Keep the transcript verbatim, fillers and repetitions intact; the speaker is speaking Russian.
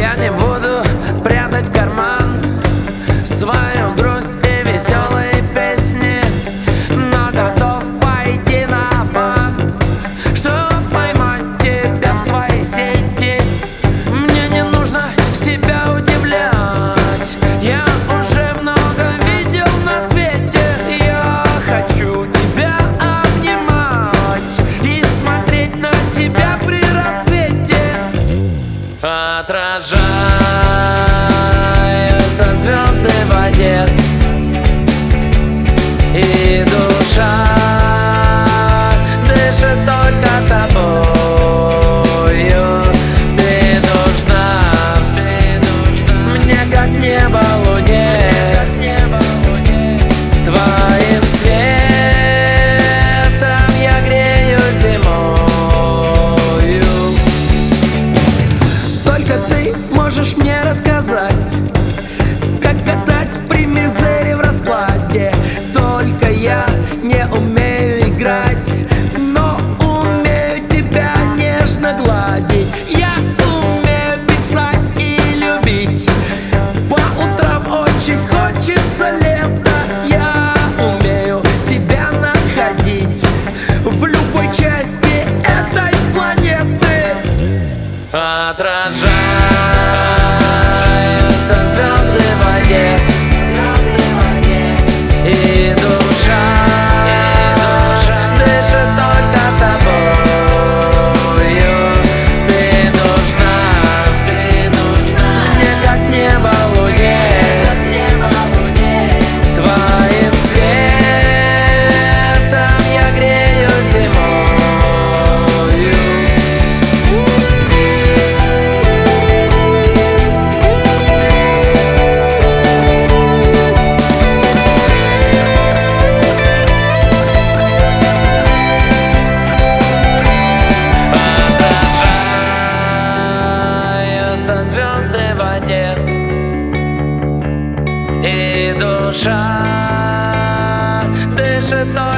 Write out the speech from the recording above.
Я не буду прятать в карман свою грусть и веселые песни, но готов пойти на бан, чтобы поймать тебя в своей сети. Мне не нужно себя удивлять, я уже много видел на свете. Я хочу тебя обнимать и смотреть на тебя при рассвете. Отражаются звезды в воде, и душа дышит только тобою. Ты нужна мне, как небо луне, твоим светом я грею зимою. Только ты можешь мне рассказать, как катать при мизере в раскладе. Только я не умею играть, но умею тебя нежно гладить. Я умею писать и любить, по утрам очень хочется лета. Я умею тебя находить в любой части этой планеты. Отражаются звезды в воде, и душа дышит только тобою. Ты нужна мне, как небо луне, твоим светом я грею зимою. Звезды в воде, и душа дышит только